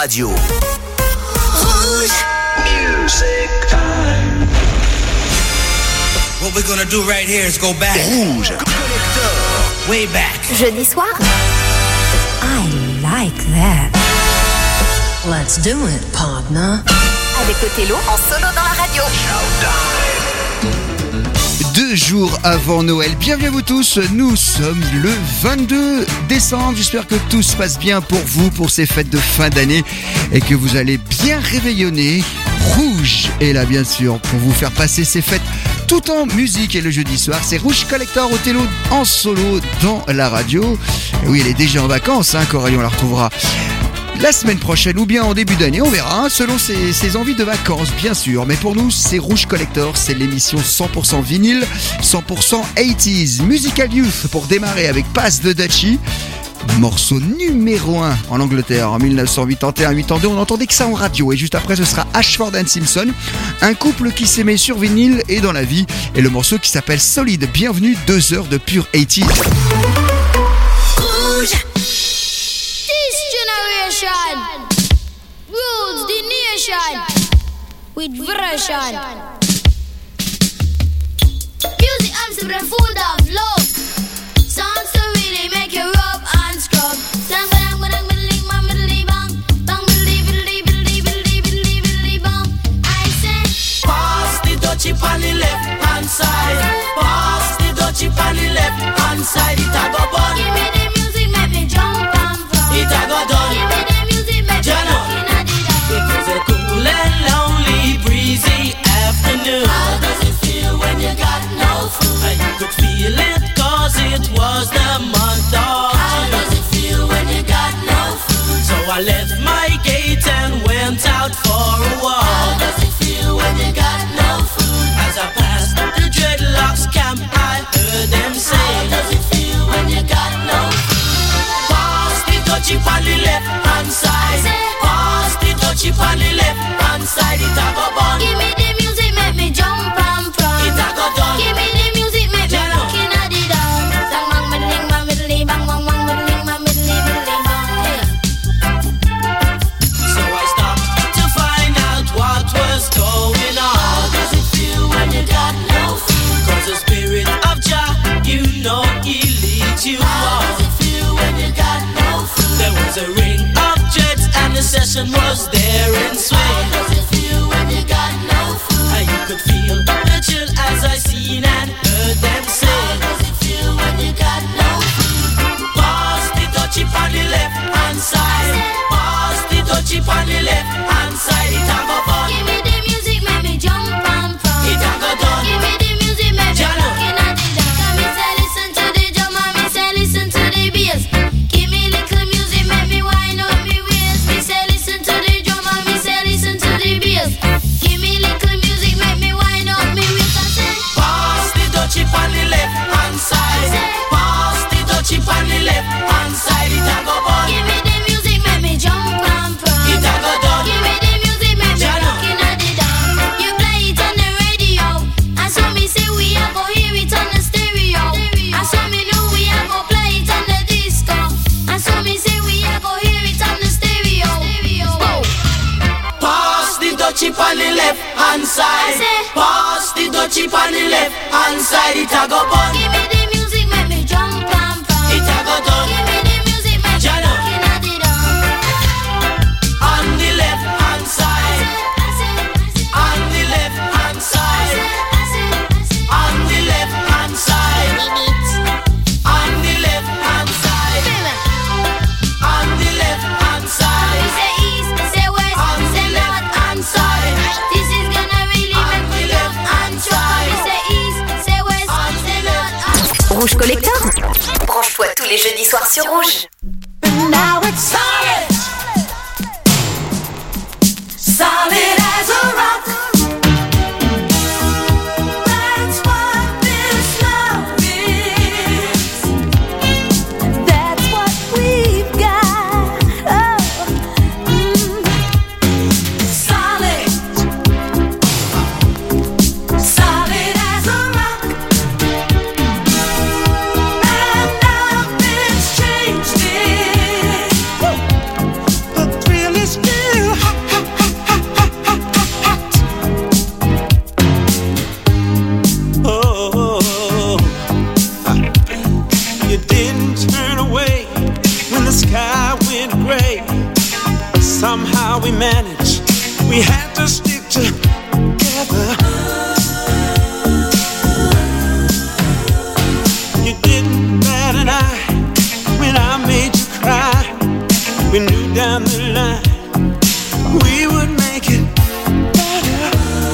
radio. Rouge. Music time. What we're gonna do right here is go back. Rouge Collector. Way back. Jeudi soir. I like that. Let's do it, partner. Avec Othello en solo dans la radio. 2 jours avant Noël, bienvenue à vous tous, nous sommes le 22 décembre, j'espère que tout se passe bien pour vous, pour ces fêtes de fin d'année et que vous allez bien réveillonner. Rouge est là bien sûr pour vous faire passer ces fêtes tout en musique et le jeudi soir, c'est Rouge Collector Othello en solo dans la radio. Et oui, elle est déjà en vacances, Coralie, on la retrouvera la semaine prochaine ou bien en début d'année, on verra, selon ses envies de vacances, bien sûr. Mais pour nous, c'est Rouge Collector, c'est l'émission 100% vinyle, 100% 80s. Musical Youth pour démarrer avec Pass de Dutchy. Morceau numéro 1 en Angleterre en 1981-82, on n'entendait que ça en radio. Et juste après, ce sera Ashford and Simpson, un couple qui s'aimait sur vinyle et dans la vie. Et le morceau qui s'appelle Solid. Bienvenue, 2 heures de pure 80s. Rouge. Rules the nation with version. Music arms the food of love. Sounds to really make you rub and scrub. I say, pass the dutchie on the left hand side. Pass the dutchie on the left hand side. It a go bun. give me the music, make me jump and run. It a go done. Give me the music, make me looking at it up. It was a cool and lonely, breezy afternoon. How does it feel when you got no food? And you could feel it cause it was the month of How June. does it feel when you got no food? So I left my gate and went out for a walk. How does it feel when you got no food? As I passed the dreadlocks camp, I heard them say, How does it feel when you got no food? pass the dutchie on the left hand side. Pass the dutchie on the left hand side. It a go bun. Give me the music, make me jump and prance. It a go done. Give me the music, make me looking at it down. Sang bang middling, bang middly, bang bang bang middling, bang middly, middling, bang. Hey. So I stopped to find out what was going How on. does it feel when you got no food? Cause the spirit of Jah, you know he leads you How on. does it feel when you got no food? There was a ring of jets and the session was there in swing. How does it feel when you got no food? And you could feel the chill as I seen and heard them How say, does it feel when you got no food? pass the dutchie on the left hand side. Pass the dutchie on the left hand side. It a go fun. Give me the music, make me jump and prance. It a go done. Give me the music, make me Jano. looking at it down. Come me say listen to the drum and me say listen to the bass. Give me little music, make me wind up me waist. Me say listen to the drum and me say listen to the bass. Give me little music, make me wind up me waist. I say Pass the dutchie on the left hand side. Pass the dutchie on the left hand side. It a go bun. give me the music, make me jump and prance. It a go done. Give me the music, make me Jano. looking at it down. You play it on the radio, and so me say we a go hear it on the stereo. And so me know we a go play it on the disco. And so me say we a go hear it on the stereo. Go. Pass the dutchie on the left hand side. I say, Pass the dutchie on the left hand side. It a go bun. Give me the music, make me jump and prance. It a go done. Give me the music, make me Jano. looking at it down. On the left hand side. On the left hand side. On the left hand side. On the left hand side. On the left hand side. Say east, say west, On the say left north hand and side. south. This is gonna really On make me the love left and hand try. side. Say east, say west, On say the north and Rouge Collector. Branche-toi tous les jeudis soirs sur Rouge. now it's solid. Solid as a rock. That's what this love is. That's what we've got. Oh. Solid. Solid as a rock. And nothing's changed it. we managed. We had to stick together. You didn't bat an eye when I made you cry. We knew down the line we would make it better.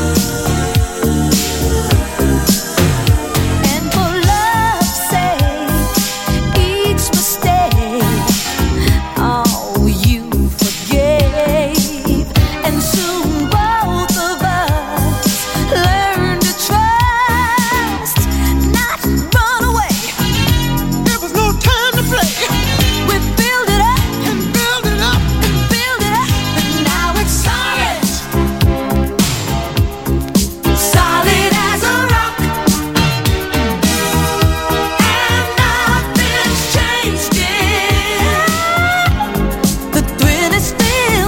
And for love's sake, each mistake, oh, you forgave. And soon both of us learned to trust, not run away. There was no time to play. We build it up and build it up and build it up, and now it's solid, solid as a rock, and nothing's changed it. The thrill is still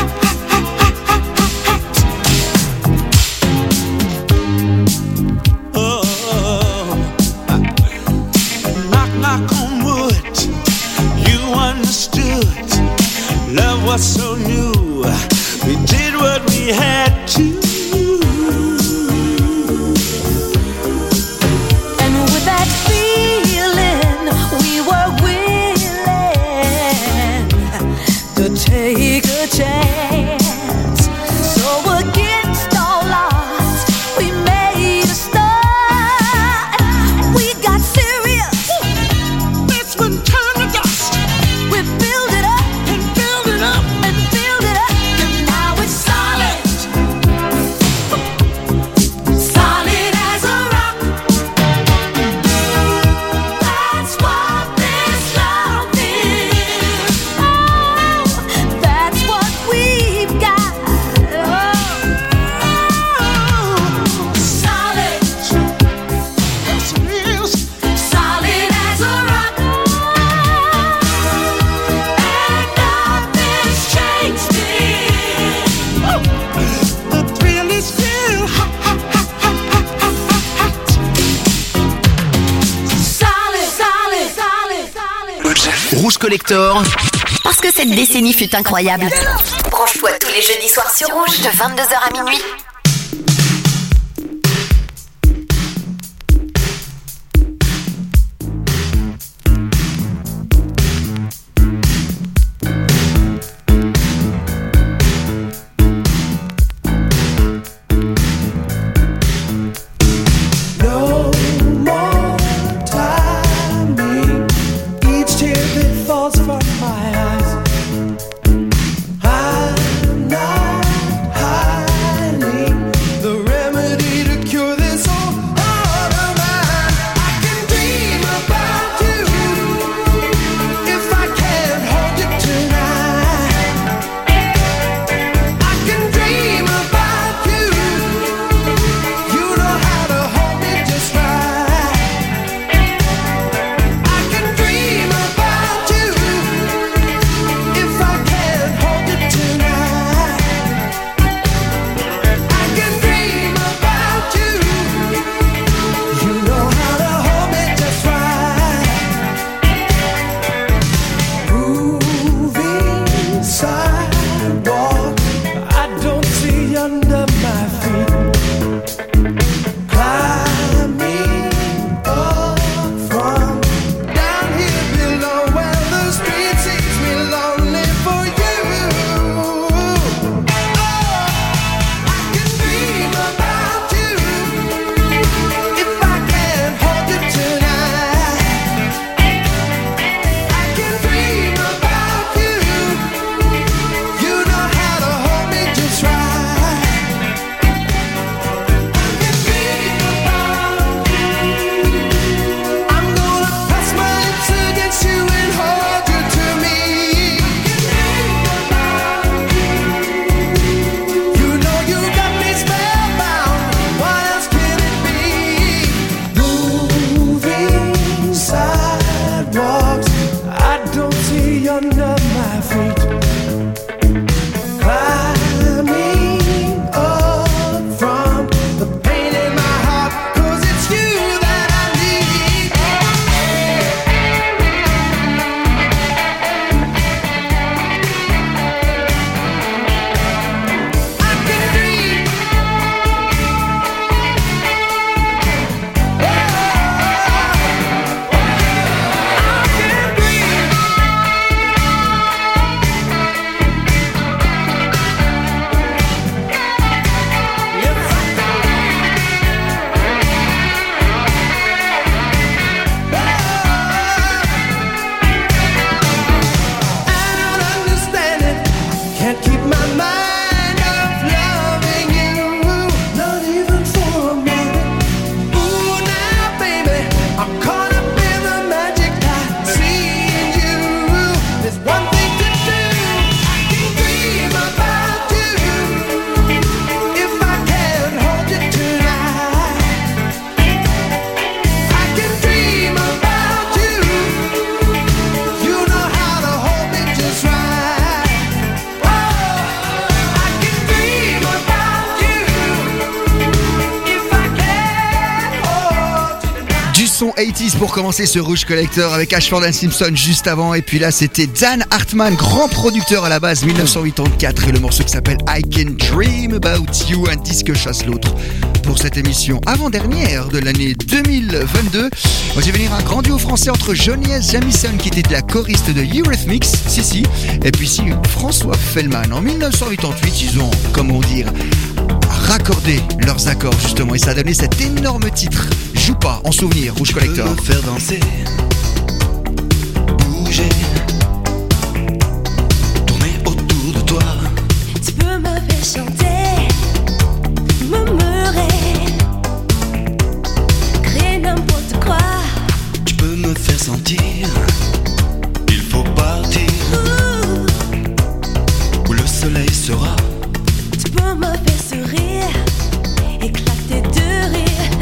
Oh, knock, knock on wood. You understood. Love was so new. We did what we had to. And with that feeling, we were willing to take a chance. So against all odds, we made a start. We got serious. That's when time to dust. We build it up And build it up. and build it up, and now it's solid, solid as a rock. That's what this love is. Oh, that's what we've got. Oh, solid, Yes, it is. solid as a rock. And nothing's changed it. The thrill is still hot. Solid, solid, solid, solid. Rouge Collector. Parce que cette décennie fut incroyable. Branche-toi tous les jeudis soirs sur Rouge de 22h à minuit. No more timing. Each tear that falls from my eyes. I'm not hiding. son 80s pour commencer ce Rouge Collector avec Ashford and Simpson juste avant. Et puis là, c'était Dan Hartman, grand producteur à la base, 1984. Et le morceau qui s'appelle I Can Dream About You, un disque chasse l'autre. Pour cette émission avant-dernière de l'année 2022, on va venir un grand duo français entre Johnny S. Jamison, qui était de la choriste de Eurythmics, si, et puis si François Fellman. En 1988, ils ont, comment dire, raccordé leurs accords justement, et ça a donné cet énorme titre. Joue pas en souvenir, Rouge Collector. Tu peux me faire danser, bouger, tourner autour de toi. Tu peux me faire chanter, murmurer, créer n'importe quoi. Tu peux me faire sentir, il faut partir, où le soleil sera. Tu peux me faire sourire, éclater de rire,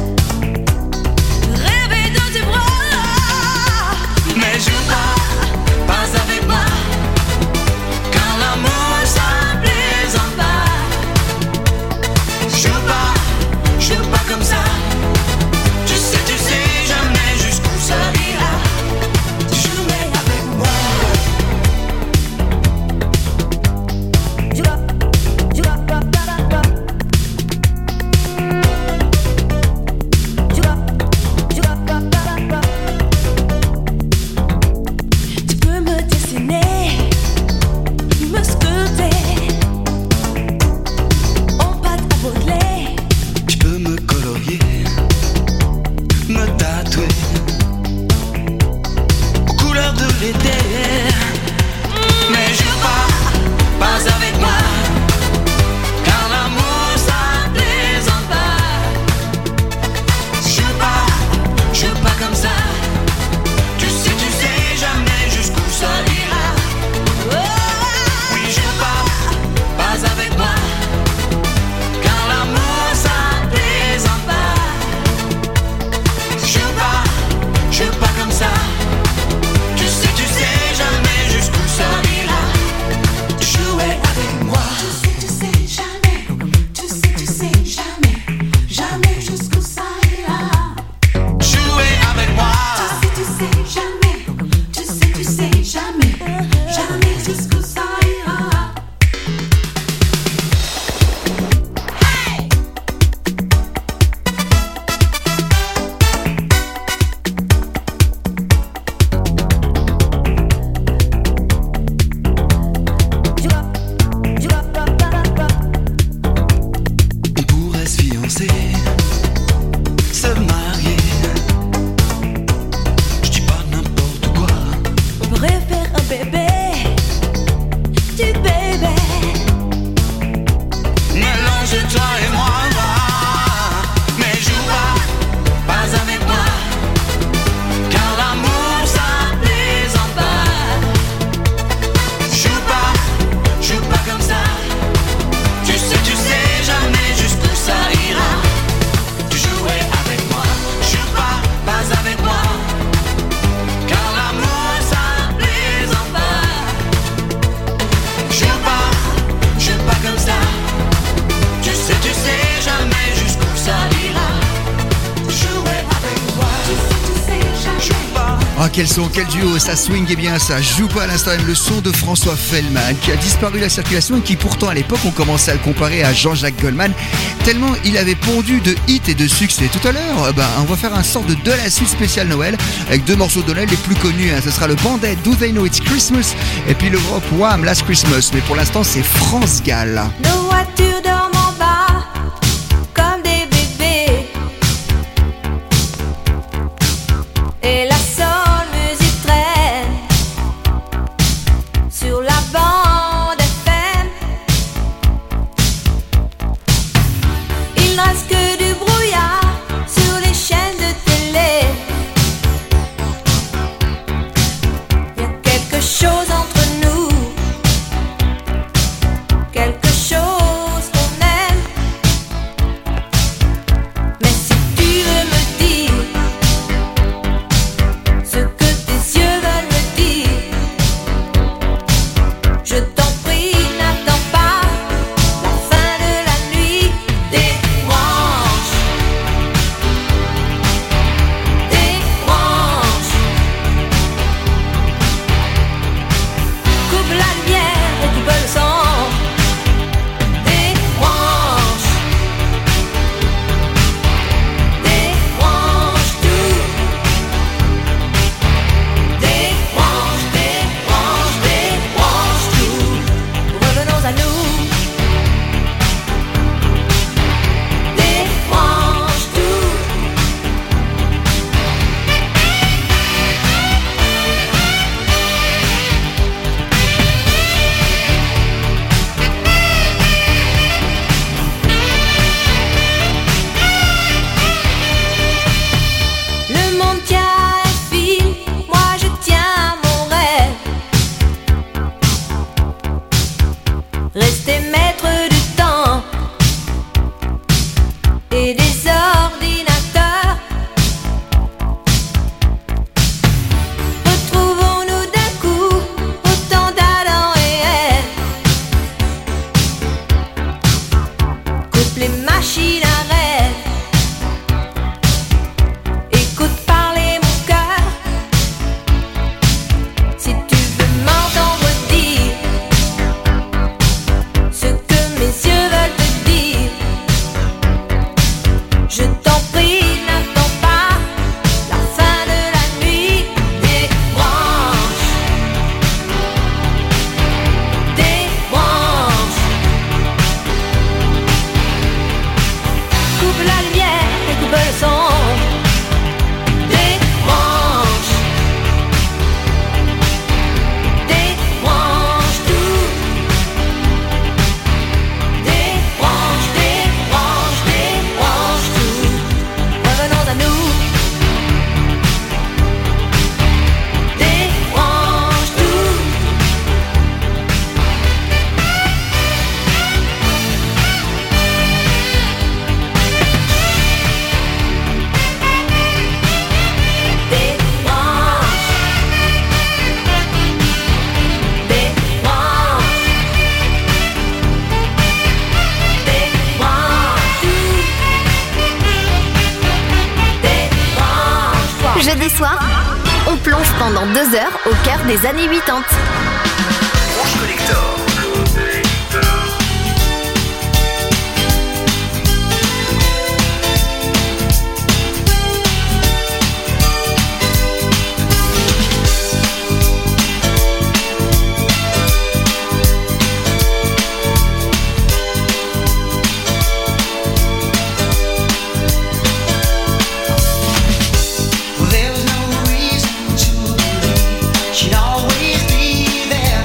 rêver dans tes bras. Mais joue pas avec moi, car l'amour ça plaisante pas. Joue pas comme ça. Tu sais jamais jusqu'où ça ira. Jouer avec moi. Tu peux me dessiner, me sculpter, en pâte à modeler. Tu peux me colorier, me tatouer aux couleurs de l'été. Mais joue pas avec moi, car l'amour ça plaisante pas. Joue pas comme ça. Tu sais jamais jusqu'où ça ira. Oui, joue pas avec moi, car l'amour ça plaisante pas. Joue pas comme ça. Tu sais jamais jusqu'où ça ira. Jouer avec moi. Tu sais jamais, jamais jusqu'où ça ira. Jouer avec moi. Tu sais jamais, jamais jusqu'où ça ira. On pourrait se fiancer, se marier. Je dis pas n'importe quoi. On pourrait faire un bébé, du bébé. Mélange toi et moi. Mais joue pas avec moi, car l'amour ça plaisante pas. Joue pas comme ça. Tu sais jamais jusqu'où ça ira. Tu jouais avec moi. Joue pas avec moi, car l'amour ça plaisante pas. Joue pas comme ça. Tu sais jamais jusqu'où ça ira. Jouer avec moi. Joue pas. Ah, quel son, quel duo, ça swing et bien ça. Joue pas à l'instant même le son de François Fellman, qui a disparu de la circulation et qui pourtant à l'époque on commençait à le comparer à Jean-Jacques Goldman, tellement il avait pondu de hits et de succès. Tout à l'heure, on va faire un sort de la suite spéciale Noël avec deux morceaux de Noël les plus connus. Ce sera le Bandit, Do They Know It's Christmas, et puis le groupe Wham, Last Christmas. Mais pour l'instant c'est France Gall. Nos voitures dorment en bas, comme des bébés. Et la seule musique traîne sur la bande FM. Il ne reste que du brouillard sur les chaînes de télé. Il y a quelque chose entre nous, quelque chose Jeudi soir, on plonge pendant 2 heures au cœur des années 80. Rouge Collector. She'd always be there.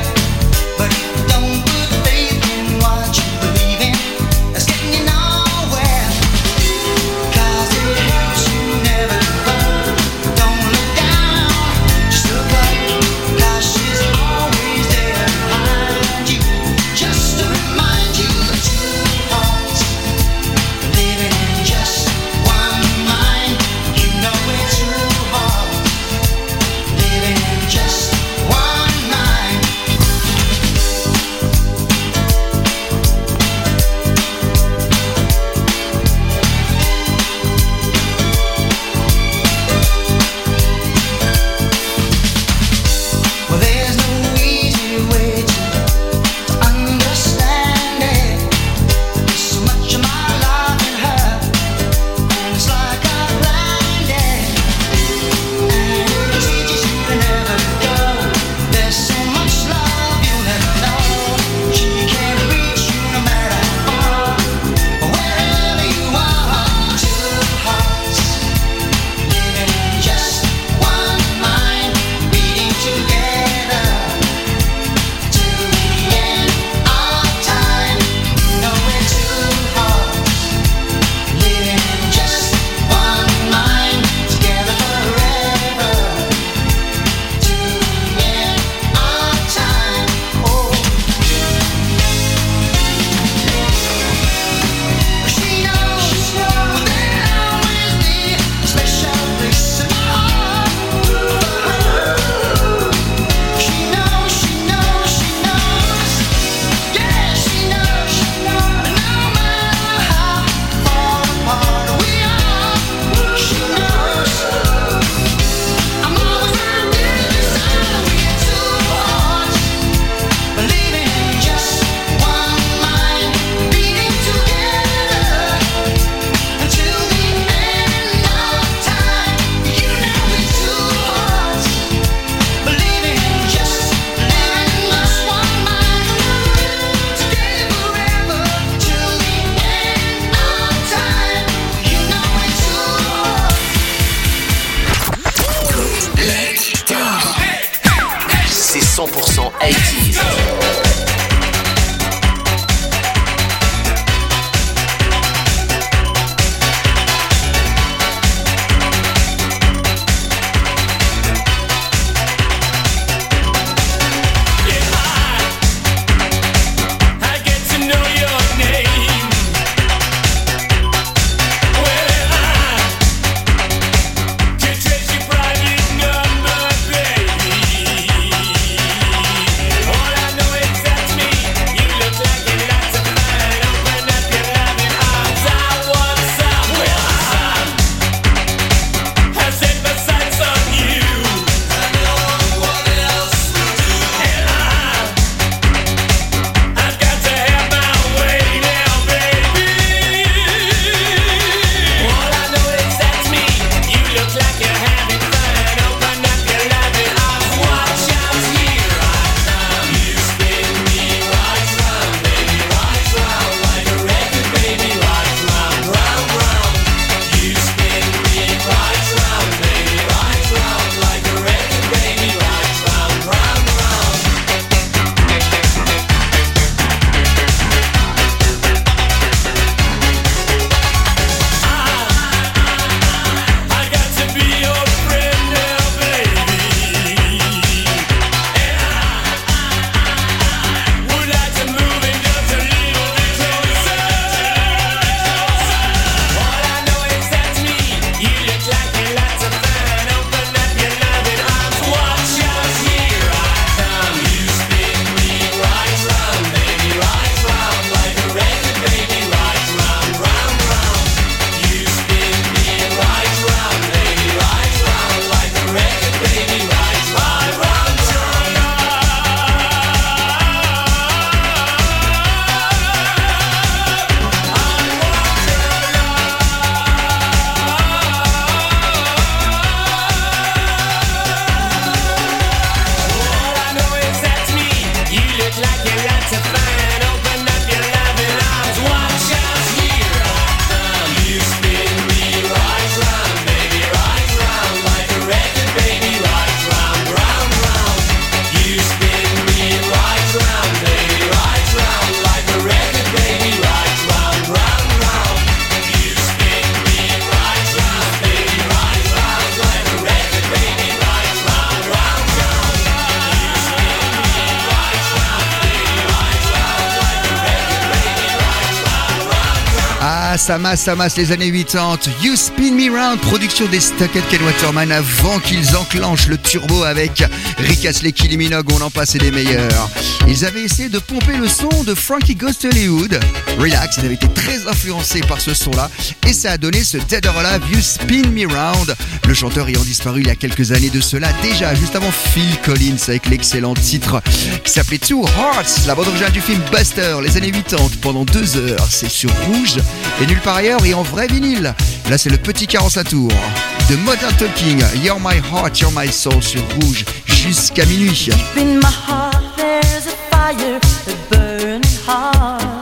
ça masse les années 80. You Spin Me Round, production des Stuck Ken Waterman avant qu'ils enclenchent le turbo avec Rick Astley, Kylie Minogue, on en passe et des meilleurs. Ils avaient essayé de pomper le son de Frankie Goes to Hollywood. Relax, ils avaient été très influencés par ce son-là et ça a donné ce Dead or Alive, You Spin Me Round. Le chanteur ayant disparu il y a quelques années de cela, déjà juste avant Phil Collins avec l'excellent titre qui s'appelait Two Hearts, la bande originale du film Buster, les années 80, pendant 2 heures. C'est sur Rouge et nulle part ailleurs et en vrai vinyle. Là, c'est le petit 45 tours de Modern Talking, You're My Heart, You're My Soul sur Rouge jusqu'à minuit. Deep in my heart, there's a fire, a burning heart.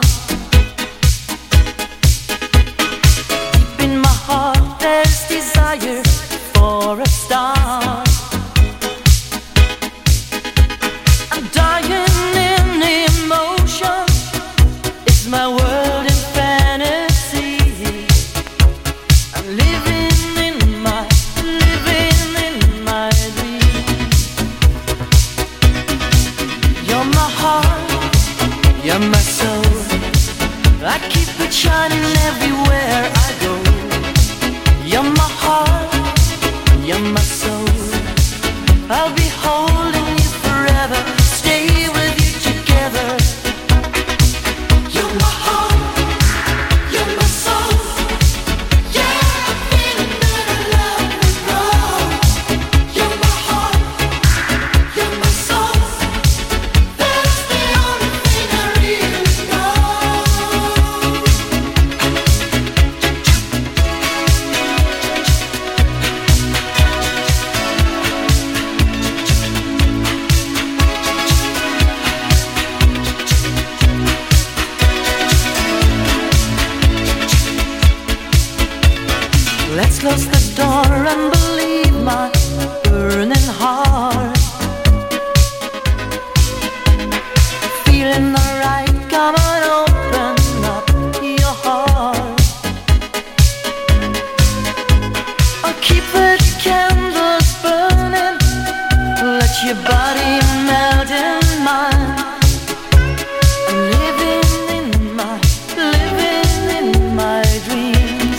Deep in my heart, there's desire for a star. I'm dying in emotion. It's my world in fantasy. I'm living in my dream. You're my heart, you're my soul. I keep it shining everywhere I go. You're my heart, you're my soul. I'll be holding you forever, stay with you together. You're my heart, you're my soul. Yeah, I'm feeling that I love you wrong. You're my heart, you're my soul. That's the only thing I really know. Let's close the door and believe my burning heart. Feeling alright, come on, open up your heart. I'll keep the candles burning, let your body melt in mine. I'm living in my dreams.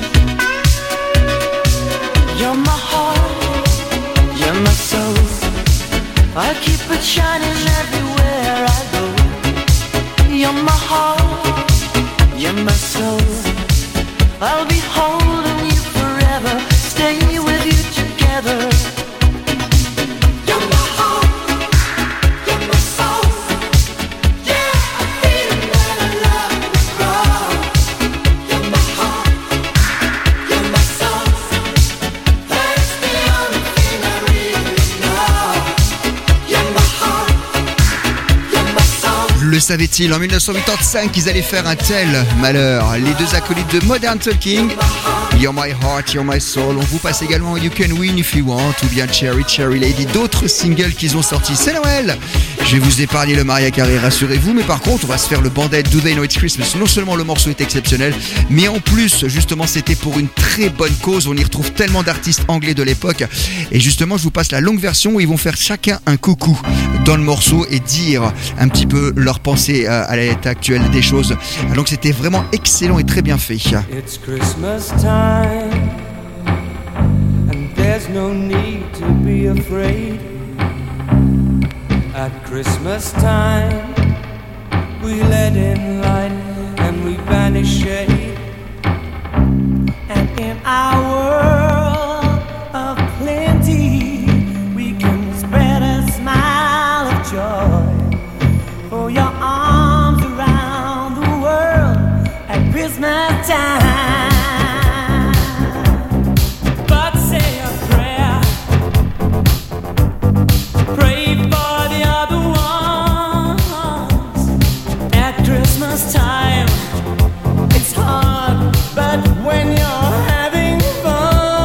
You're my heart, you're my soul. I'll keep it shining everywhere I go. You're my heart, you're my soul. I'll be holding you forever, stay with you together. You're my heart, you're my soul. Yeah, I'm feeling that I love you wrong. You're my heart, you're my soul. That's the only thing I really know. You're my heart, you're my soul. Le savait-il en 1985 qu'ils allaient faire un tel malheur? Les deux acolytes de Modern Talking, You're My Heart, You're My Soul. On vous passe également You Can Win If You Want ou bien Cherry Cherry Lady, d'autres singles qu'ils ont sortis. C'est Noël, je vais vous épargner le Mariah Carey, rassurez-vous, mais par contre on va se faire le Bandit Do They Know It's Christmas. Non seulement le morceau est exceptionnel, mais en plus justement c'était pour une très bonne cause. On y retrouve tellement d'artistes anglais de l'époque et justement je vous passe la longue version où ils vont faire chacun un coucou dans le morceau et dire un petit peu leur pensée à l'état actuel des choses. Donc c'était vraiment excellent et très bien fait. It's Christmas time, and there's no need to be afraid. At Christmas time, we let in light and we banish shade. And in our world of plenty, we can spread a smile of joy. For your arms around the world at Christmas time. But say a prayer, pray for the other ones. At Christmas time, it's hard, but when you're having fun,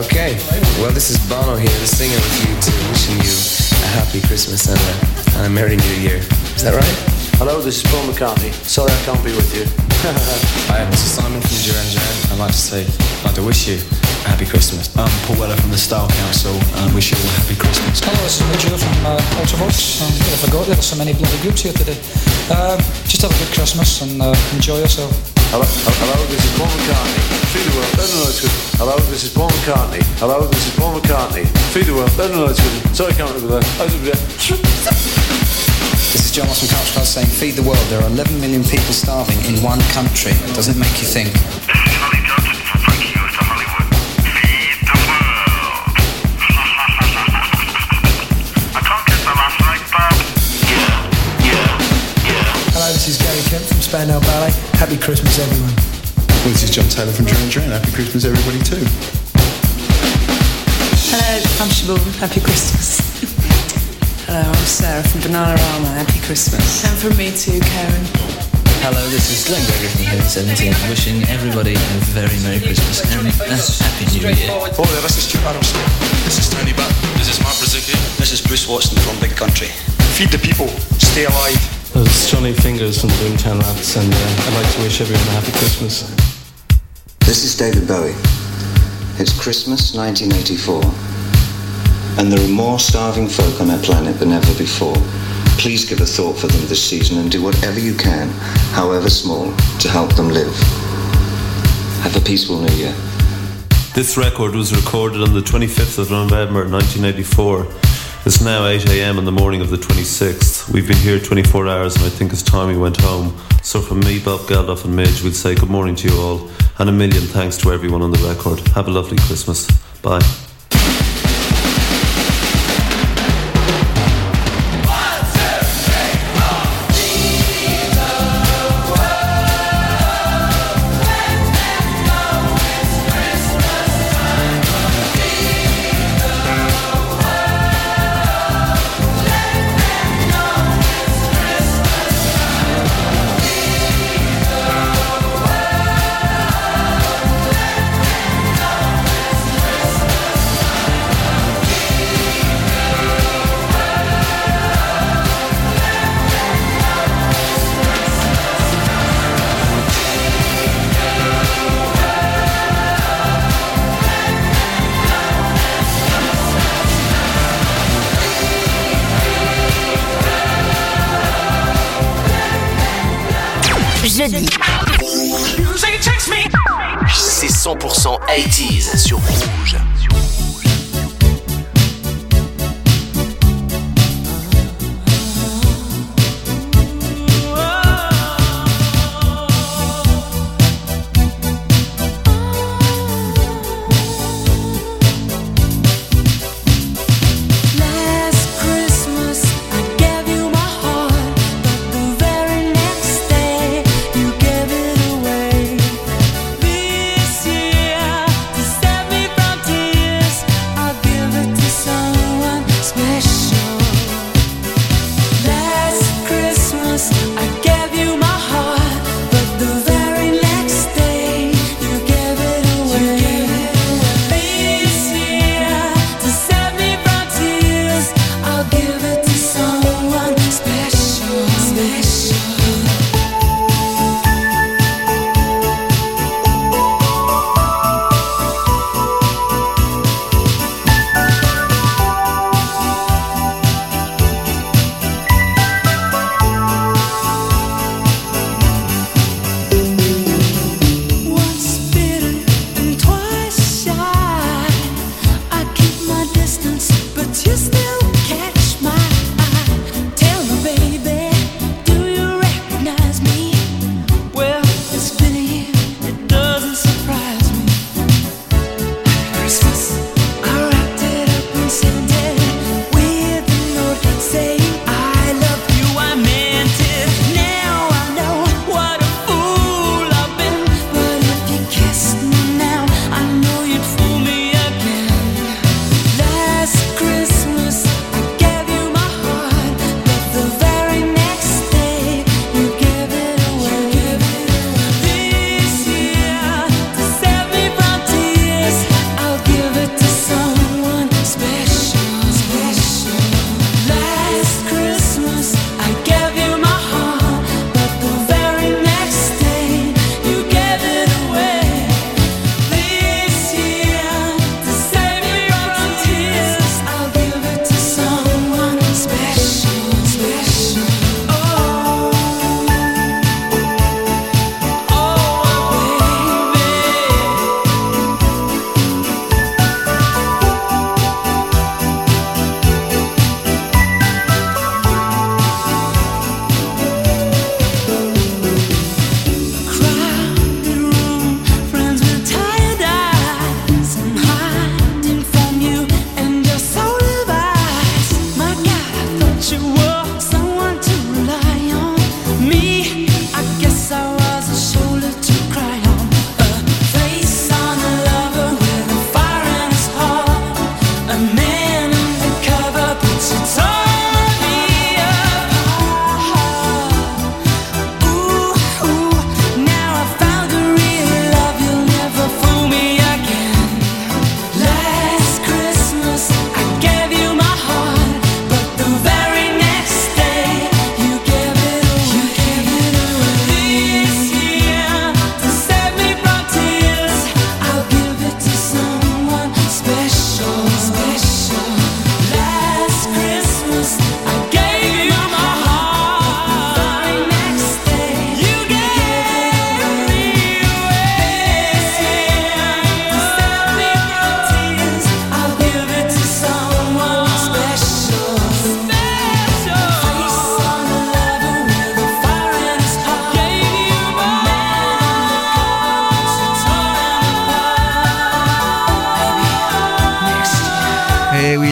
Okay, well, this is Bono here, the singer with you too, wishing you a happy Christmas and a Merry New Year. Is that right? Hello, this is Paul McCartney. Sorry I can't be with you. Hi, this is Simon from Duran Duran. I'd like to wish you a happy Christmas. I'm Paul Weller from the Style Council and wish you all a happy Christmas. Hello, this is Joe from Ultravox. I forgot there are so many bloody groups here today. Just have a good Christmas and enjoy yourself. Hello, this is Paul McCartney. Feed the world. No, it's good. Hello, this is Paul McCartney. Hello, this is Paul McCartney. Feed the world. No, it's good. Sorry I can't remember that. This is John Ross from Couch Club saying, feed the world. There are 11 million people starving in one country. Does it make you think? Hello, this is Gary Kemp from Spandau Ballet. Happy Christmas, everyone. Well, this is John Taylor from Duran Duran. Happy Christmas, everybody, too. Hello, I'm Siobhan. Happy Christmas. Hello, I'm Sarah from Bananarama. Happy Christmas. And from me too, Karen. Hello, this is Glenn Gregory from Hidden 17, wishing everybody a very Merry Christmas and a Happy New Year. Oh, yeah, this is Stuart Adams. This is Tony Butt. This is Mark Brazuki. This is Bruce Watson from Big Country. Feed the people. Stay alive. It's Johnny Fingers from the Boomtown Rats, and I'd like to wish everyone a happy Christmas. This is David Bowie. It's Christmas 1984, and there are more starving folk on our planet than ever before. Please give a thought for them this season and do whatever you can, however small, to help them live. Have a peaceful New Year. This record was recorded on the 25th of November 1984. It's now 8 a.m. in the morning of the 26th. We've been here 24 hours and I think it's time we went home. So from me, Bob Geldof and Midge, we'll say good morning to you all and a million thanks to everyone on the record. Have a lovely Christmas. Bye. Jeudi. C'est 100% 80s sur Rouge. This year, to save me from tears.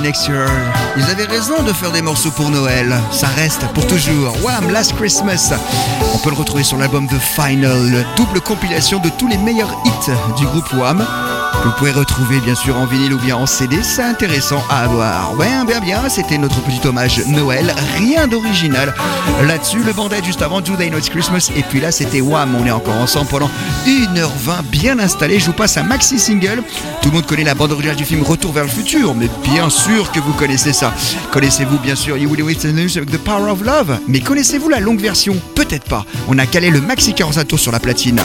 next year. Ils avaient raison de faire des morceaux pour Noël. Ça reste pour toujours. Wham! Last Christmas. On peut le retrouver sur l'album The Final, double compilation de tous les meilleurs hits du groupe Wham. Vous pouvez retrouver bien sûr en vinyle ou bien en CD, c'est intéressant à avoir. Ouais, bien, c'était notre petit hommage Noël, rien d'original. Là-dessus, le bandit juste avant Do They Know It's Christmas, et puis là c'était Wham, on est encore ensemble pendant 1h20 bien installé. Je vous passe un maxi single. Tout le monde connaît la bande originale du film Retour vers le futur, mais bien sûr que vous connaissez ça. Connaissez-vous bien sûr You Will Wait News avec The Power of Love, mais connaissez-vous la longue version? Peut-être pas. On a calé le maxi 45 tours sur la platine.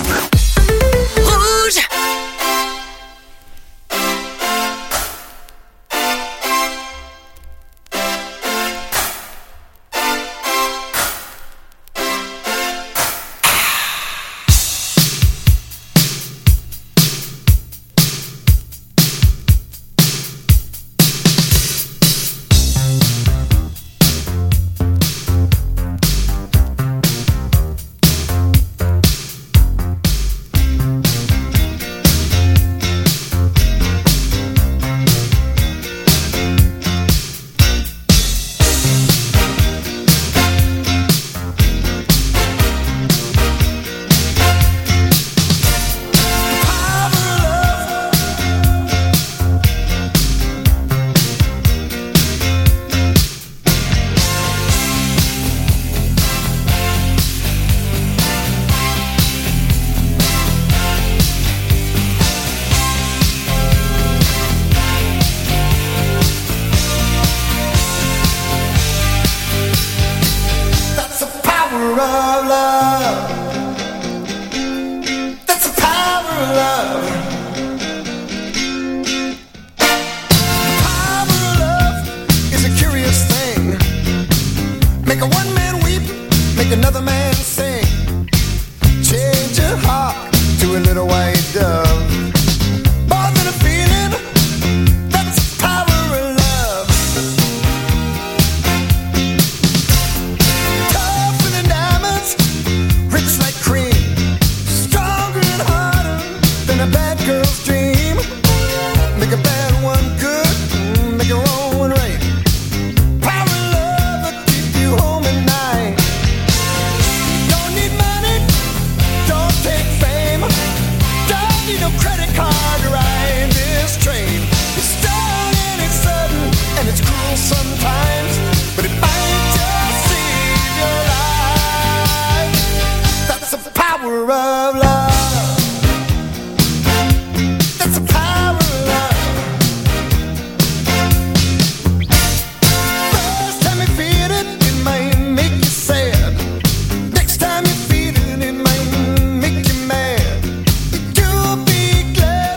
Glad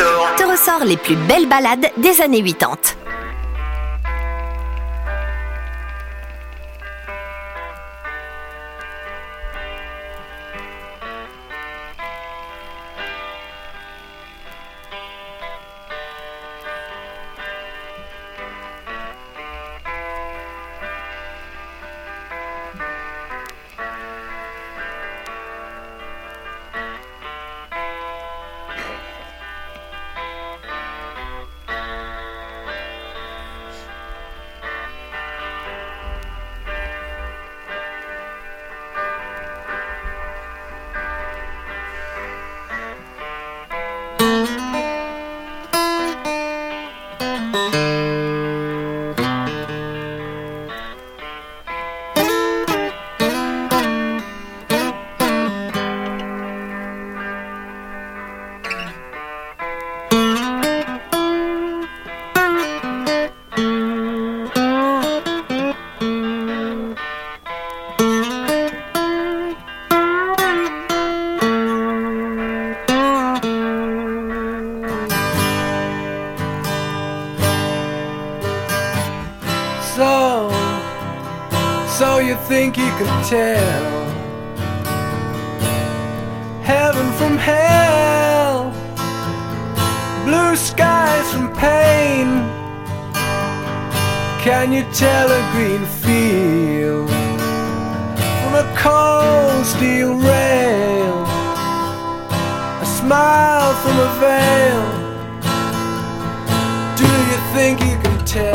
Tour te ressort les plus belles ballades des années 80. So you think you can tell heaven from hell, blue skies from pain? Can you tell a green field from a cold steel rail, a smile from a veil? Do you think you can tell?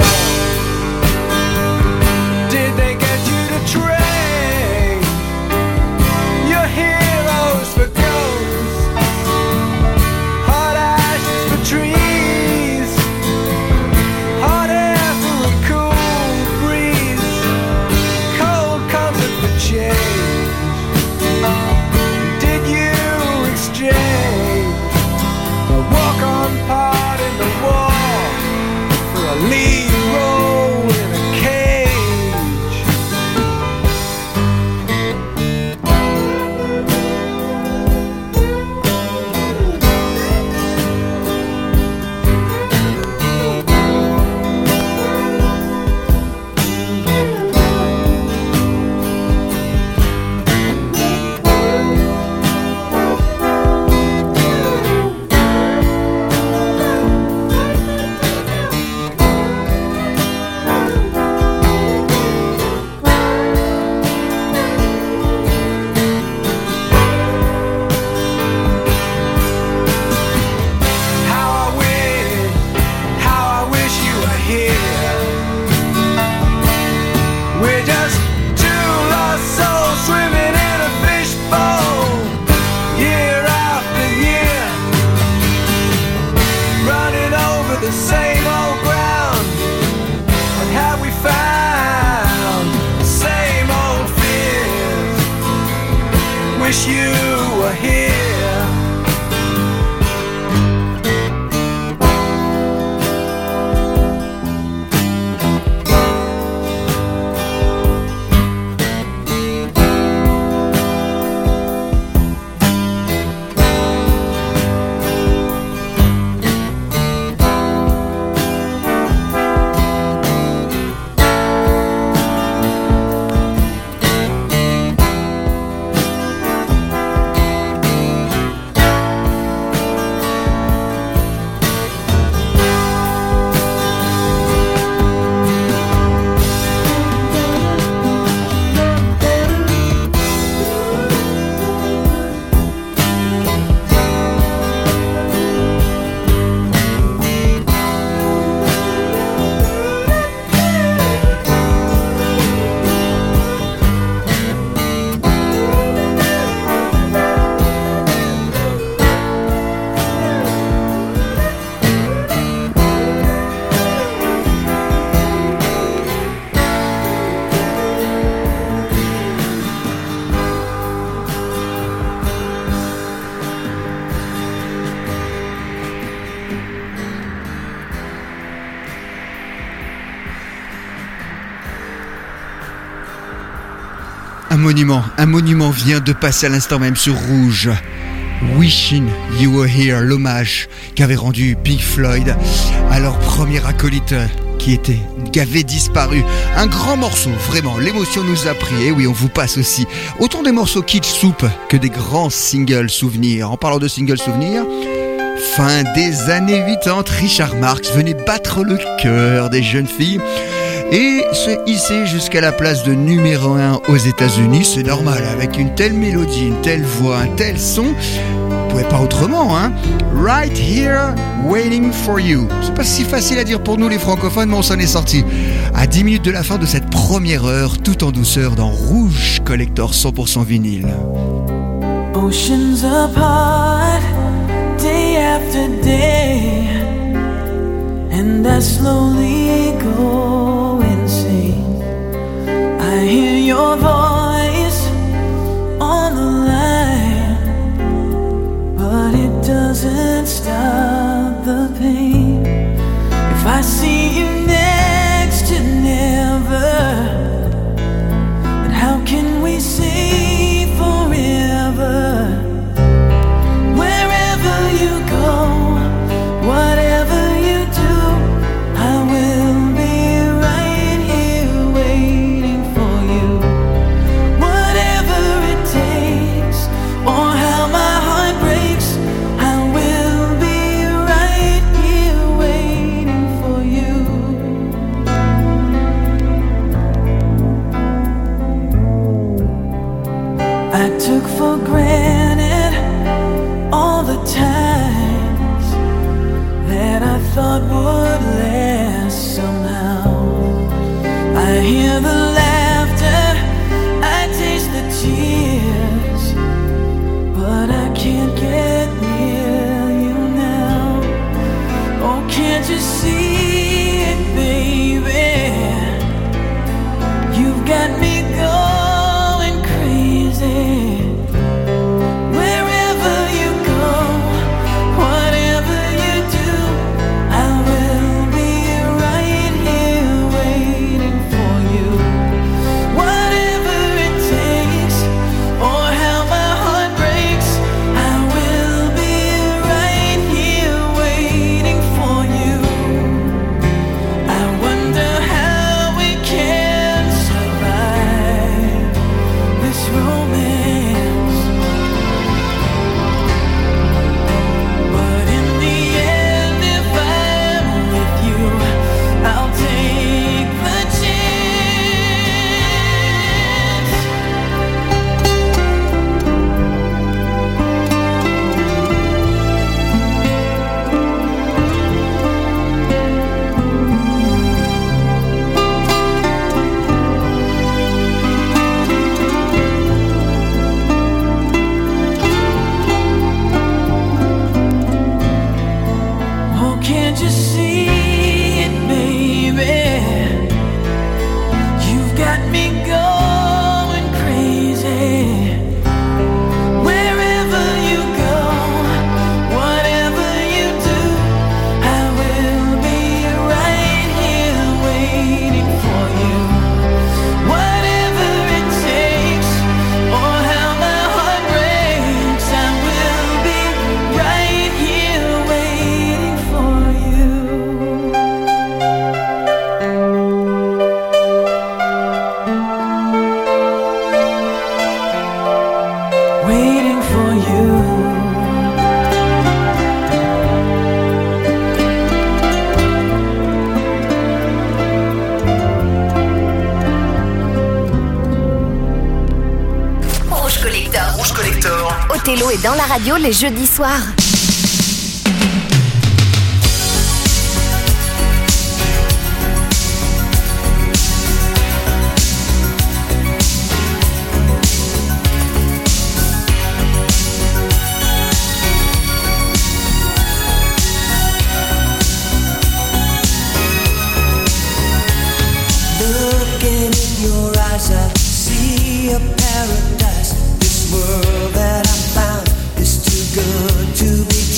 Did they get you to trade your heroes for ghosts, hot ashes for trees, hot air for a cool breeze, cold comfort for change? Did you exchange a walk-on part in the war for a lead role in a cage? Wish you were here. Un monument vient de passer à l'instant même sur Rouge. Wishing You Were Here, l'hommage qu'avait rendu Pink Floyd à leur premier acolyte qui avait disparu. Un grand morceau, vraiment, l'émotion nous a pris. Et oui, on vous passe aussi autant des morceaux kitsch soup que des grands singles souvenirs. En parlant de singles souvenirs, fin des années 80, Richard Marx venait battre le cœur des jeunes filles et se hisser jusqu'à la place de numéro 1 aux États-Unis. C'est normal, avec une telle mélodie, une telle voix, un tel son, on pouvait pas autrement, hein. Right Here, Waiting for You. C'est pas si facile à dire pour nous les francophones, mais on s'en est sorti. À 10 minutes de la fin de cette première heure, tout en douceur dans Rouge Collector 100% vinyle. Oceans apart, day after day, and I slowly go insane. I hear your voice on the line, but it doesn't stop the pain. If I see you next to never, then how can we say forever? Wherever you go, whatever you do, I will be right here waiting for you. Whatever it takes, or how my heart breaks, I will be right here waiting for you. I took for granted all the times that I thought would last somehow. I hear the laughter, I taste the tears, but I can't get near you now. Oh, can't you see it, baby? You've got me going crazy. Wherever you go, whatever you do, I will be right here waiting for you. Whatever it takes, or how my heart breaks, I will be right here waiting for you. I wonder how we can survive this romance. But in the end, if I'm with you, I'll take the chance. Oh, can't you see it, baby? You've got me going crazy. Wherever you go, whatever you do, I will be right here waiting for you. Whatever it takes, or how my heart breaks, I will be right here waiting for you. Waiting for you. Rouge Collector. Rouge Collector. Othello est dans la radio les jeudis soirs. Looking in your eyes, I see a paradise. This world that I found is too good to be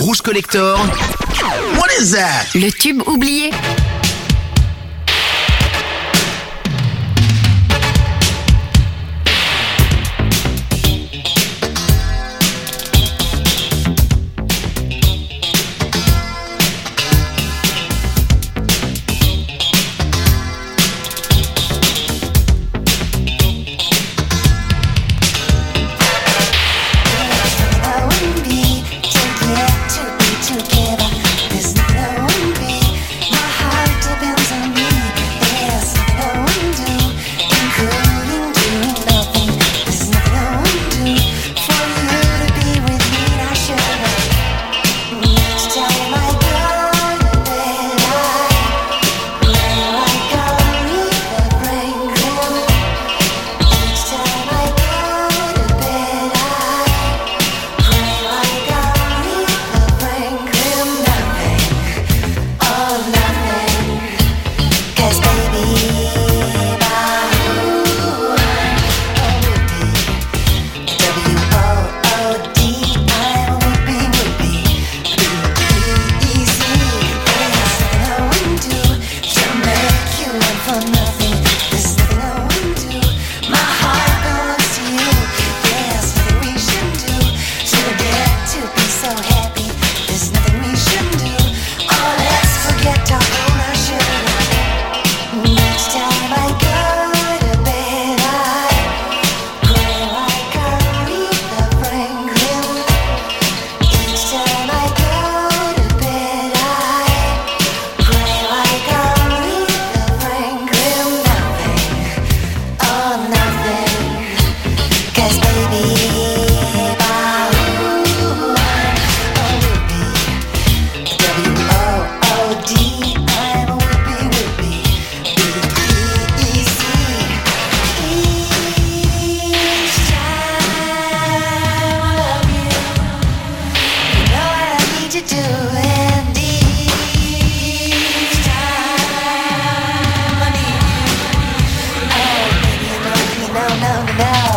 Rouge Collector. What is that? Le tube oublié. Now